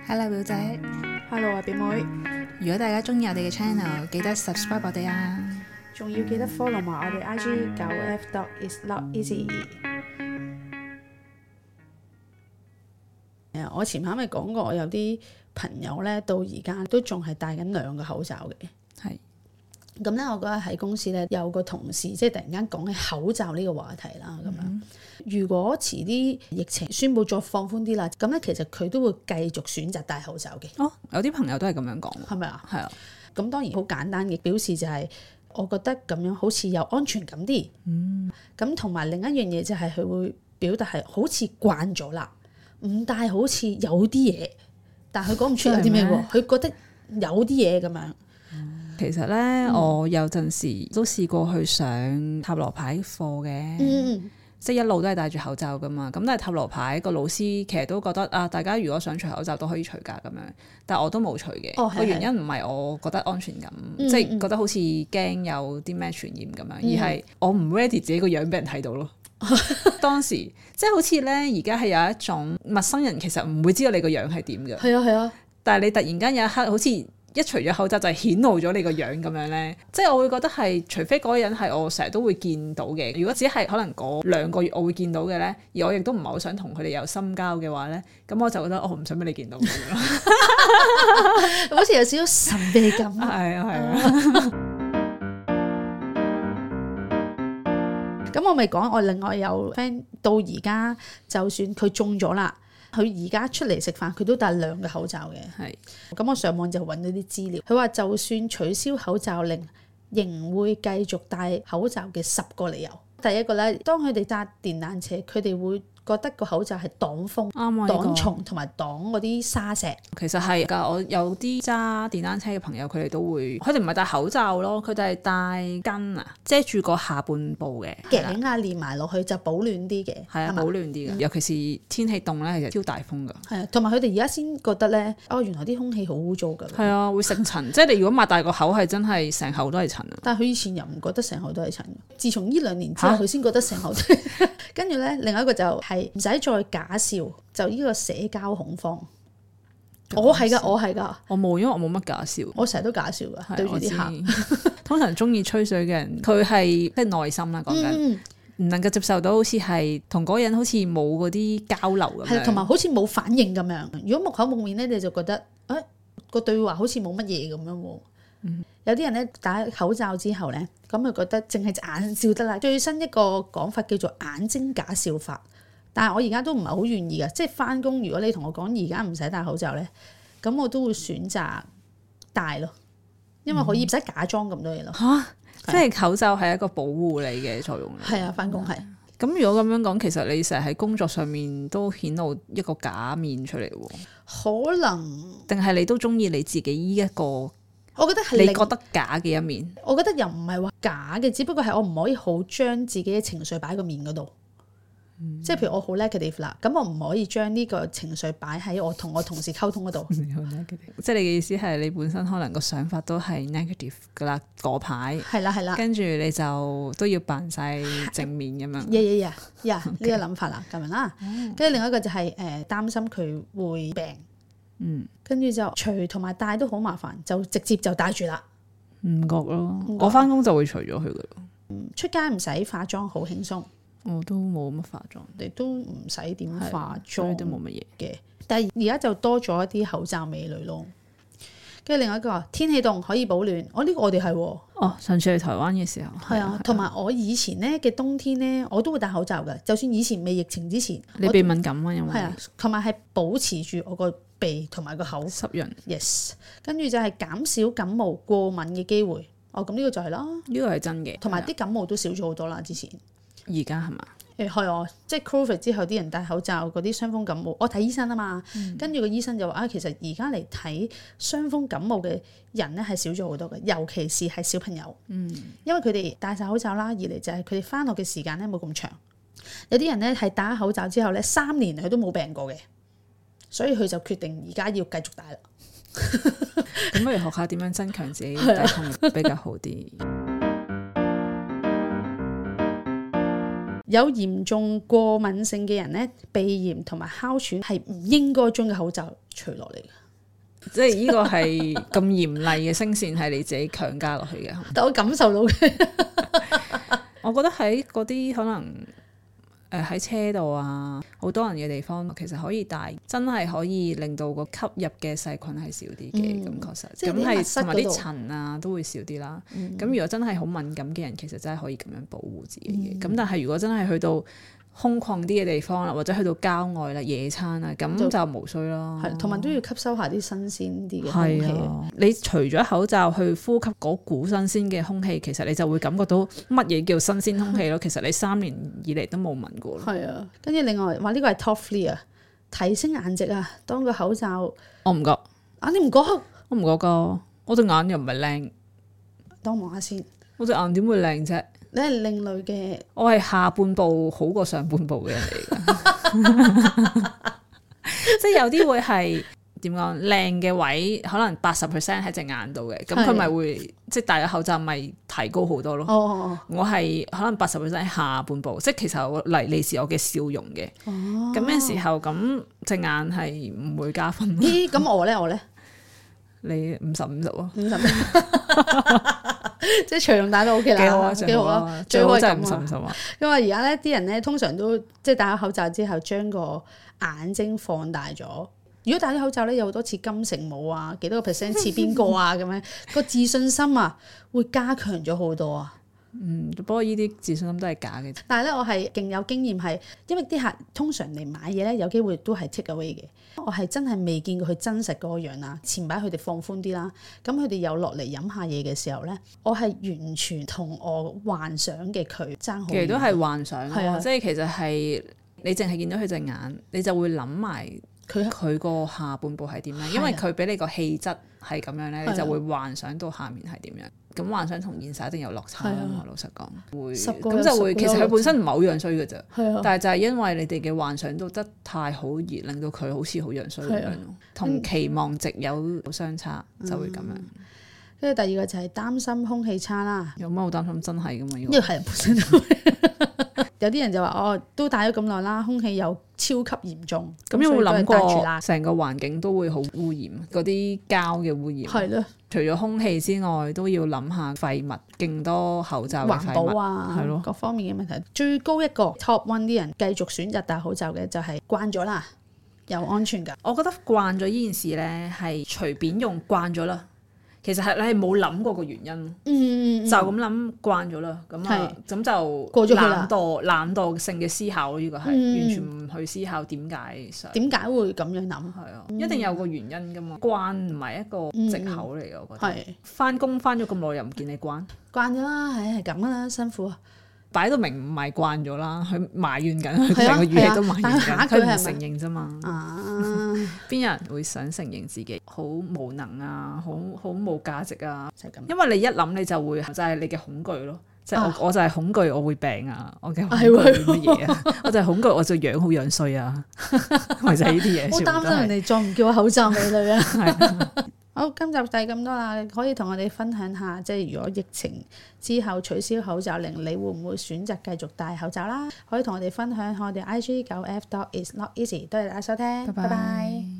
Hello 表姐 Hello 啊表妹， 如果大家中意我哋嘅 channel， 記得 subscribe 我哋啊， 仲要記得 follow 埋我哋 IG 9F.is.not.easy。 我前排咪講過，我有啲朋友咧到而家都仲係戴緊2個口罩嘅。 係咁咧，我嗰日喺公司咧有個同事即係突然間講起口罩呢個話題啦。咁樣如果遲啲疫情宣布再放寬啲啦，咁咧其實佢都會繼續選擇戴口罩嘅。 哦，有啲朋友都係咁樣講， 係咪啊？ 係啊。 咁當然好簡單嘅表示就係，我覺得咁樣好似有安全感啲。咁同埋另一樣嘢就係佢會表達係好似慣咗啦，唔戴好似有啲嘢，但係佢講唔出有啲咩喎，佢覺得有啲嘢咁樣。 其實咧，我有陣時都試過去上塔羅牌課嘅，即係一路都係戴住口罩噶嘛。咁但係塔羅牌個老師其實都覺得啊，大家如果想除口罩都可以除㗎咁樣，但係我都冇除嘅。個原因唔係我覺得安全感，即係覺得好似驚有啲咩傳染咁樣，而係我唔 ready 自己個樣俾人睇到咯。當時即係好似咧，而家係有一種陌生人其實唔會知道你個樣係點嘅。 係啊係啊，但係你突然間有一刻好似一除咗口罩就係顯露咗你個樣咁樣咧，即係我會覺得係，除非嗰個人係我成日都會見到嘅，如果只係可能嗰2個月我會見到嘅咧，而我亦都唔係好想同佢哋有深交嘅話咧，咁我就覺得我唔想俾你見到咁樣， 好似有少少神秘感。 係啊係啊。 咁我咪講，我另外有 friend 到而家，就算佢中咗啦。佢而家出嚟食飯，佢都戴2個口罩嘅。係，咁我上網就揾到啲資料，佢話就算取消口罩令，仍會繼續戴口罩嘅10個理由。第一個咧，當佢哋揸電單車，佢哋會覺得個口罩係擋風、擋蟲同埋擋嗰啲沙石。其實係㗎，我有啲揸電單車嘅朋友，佢哋都會，佢哋唔係戴口罩咯，佢哋係戴巾啊，遮住個下半部嘅頸啊，連埋落去就保暖啲嘅。係啊，保暖啲嘅，尤其是天氣凍咧，其實超大風㗎。係啊，同埋佢哋而家先覺得咧，哦，原來啲空氣好污糟㗎。係啊，會食塵，即係你如果擘大個口，係真係成口都係塵啊。但係佢以前又唔覺得成口都係塵，自從呢2年之後，佢先覺得成口都係。跟住咧，另外一個就係唔使再假笑，就呢個社交恐慌。我係㗎，我冇，因為我冇乜假笑。我成日都假笑㗎，對住啲客。通常中意吹水嘅人，佢係即係內心啦，講緊唔能夠接受到好似係同嗰個人好似冇嗰啲交流咁樣，同埋好似冇反應咁樣。如果木口木面咧，你就覺得個對話好似冇乜嘢咁樣喎。有啲人咧戴口罩之後咧，咁就覺得淨係隻眼笑得啦。最新一個講法叫做眼睛假笑法，但係我而家都唔係好願意㗎。即係返工，如果你同我講而家唔使戴口罩咧，咁我都會選擇戴咯，因為可以唔使假裝咁多嘢咯。即係口罩係一個保護你嘅作用。係啊，返工係。咁如果咁樣講，其實你成日喺工作上面都顯露一個假面出嚟喎。可能定係你都中意你自己呢一個？我覺得係你覺得假嘅一面。我覺得又唔係話假嘅，只不過係我唔可以好將自己嘅情緒擺喺個面嗰度。即係譬如我好 negative 啦，咁我唔可以將呢個情緒擺喺我同我同事溝通嗰度。即係你嘅意思係你本身可能個想法都係 negative 噶啦，嗰排係啦，跟住你就都要扮晒正面咁樣。呢個諗法啦，咁樣啦。跟住另外一個就係擔心佢會病。跟住就除同埋戴都好麻煩，就直接就戴住啦。唔覺咯，我返工就會除咗佢噶咯。出街唔使化妝，好輕鬆。我都冇乜化妝，你都唔使點化妝，都冇乜嘢嘅。但係而家就多咗一啲口罩美女咯。跟住另外一個天氣凍可以保暖，呢個我哋係上次去台灣嘅時候係啊，同埋我以前咧嘅冬天咧，我都會戴口罩㗎。就算以前未疫情之前，你鼻敏感啊，因為係啊，同埋係保持住我個鼻同埋個口濕潤。Yes， 跟住就係減少感冒過敏嘅機會。咁呢個就係啦，呢個係真嘅。同埋啲感冒都少咗好多啦，之前。而家係嘛？係我即係 Covid 之後啲人戴口罩嗰啲傷風感冒，我睇醫生啊嘛，跟住個醫生就話其實而家嚟睇傷風感冒嘅人咧係少咗好多嘅，尤其是係小朋友。因為佢哋戴晒口罩啦，二嚟就係佢哋返學嘅時間咧冇咁長。有啲人咧係戴口罩之後咧3年佢都冇病過嘅，所以佢就決定而家要繼續戴啦。咁不如學下點樣增強自己抵抗力比較好啲。有嚴重過敏性嘅人咧，鼻炎同埋哮喘係唔應該將個口罩除落嚟嘅。 即係呢個係咁嚴厲嘅聲線係你自己強加落去嘅。 但我感受到嘅， 我覺得喺嗰啲可能喺車度啊，好多人嘅地方，其實可以戴，真係可以令到個吸入嘅細菌係少啲嘅。咁確實，咁係同埋啲塵啊都會少啲啦。咁如果真係好敏感嘅人，其實真係可以咁樣保護自己嘅。咁但係如果真係去到空曠啲嘅地方啦，或者去到郊外啦、野餐啊，咁就無需咯。 係，同埋都要吸收下啲新鮮啲嘅空氣。 你除咗口罩去呼吸嗰股新鮮嘅空氣，其實你就會感覺到乜嘢叫新鮮空氣咯。其實你3年以嚟都冇聞過。係啊， 跟住另外話呢個係 top 3啊，提升顏值啊。當個口罩， 我唔覺啊，你唔覺？ 我唔覺㗎，我隻眼又唔係靚。 等我望下先。 我隻眼點會靚啫？ 你係另類嘅， 我係下半部好過上半部嘅人嚟㗎，即係有啲會係點講靚嘅位，可能80% 喺隻眼度嘅，咁佢咪會即係戴咗口罩咪提高好多咯。我係可能80% 喺下半部，即係其實我嚟自我嘅笑容嘅。咁嘅時候，咁隻眼係唔會加分。 咦？咁我咧？ 你50-50喎 ，50即係長用戴都 OK 啦，幾好啊，最好真係50-50啊。因為而家咧啲人咧通常都即係戴咗口罩之後，將個眼睛放大咗。如果戴咗口罩咧，有好多似金城武啊，幾多個 percent 似邊個啊咁樣，個自信心啊會加強咗好多啊。 不過呢啲自信心都係假嘅。 但係咧，我係勁有經驗係，因為啲客通常嚟買嘢咧，有機會都係 take away 嘅。我係真係未見過佢真實嗰個樣啦。前排佢哋放寬啲啦，咁佢哋有落嚟飲下嘢嘅時候咧，我係完全同我幻想嘅佢爭好遠。其實都係幻想， 係啊， 即係其實係你淨係見到佢隻眼，你就會諗埋佢個下半部係點樣，因為佢俾你個氣質係咁樣咧，你就會幻想到下面係點樣。咁幻想同現實一定有落差啊嘛，老實講會咁就會，其實佢本身唔係好樣衰嘅啫，但係就係因為你哋嘅幻想都得太好而令到佢好似好樣衰咁樣咯，同期望值有相差就會咁樣。 跟住第二個就係擔心空氣差啦。 有乜好擔心？真係噶嘛？呢個係本身有啲人就話都戴咗咁耐啦，空氣又超級嚴重。咁有冇諗過成個環境都會好污染？嗰啲膠嘅污染係咯。除咗空氣之外，都要諗下廢物，勁多口罩嘅廢物環保啊，係咯，各方面嘅問題。最高一個 top one 啲人繼續選擇戴口罩嘅就係慣咗啦，又安全㗎。我覺得慣咗呢件事咧係隨便用慣咗啦。其實係你係冇諗過個原因，就咁諗慣咗啦，咁就過咗懶惰性嘅思考，呢個係完全唔去思考點解會咁樣諗，係啊，一定有個原因噶嘛，慣唔係一個藉口嚟嘅，我覺得。翻工翻咗咁耐又唔見你慣咗啦，係咁啦，辛苦啊。擺到明唔係慣咗啦，佢埋怨緊，佢成個語氣都埋怨緊，佢唔承認啫嘛。邊有人會想承認自己好無能啊，好冇價值啊？就係咁。因為你一諗你就會就係你嘅恐懼咯，即係我就係恐懼我會病啊，我嘅恐懼係乜嘢啊？我就係恐懼我就樣好樣衰啊，咪就係呢啲嘢。好擔心人哋再唔叫我口罩美女啊！好，今集就係咁多啦，可以同我哋分享下，即係如果疫情之後取消口罩令，你會唔會選擇繼續戴口罩啦？可以同我哋分享我哋 IG9F.is not easy，多謝大家收聽，拜拜。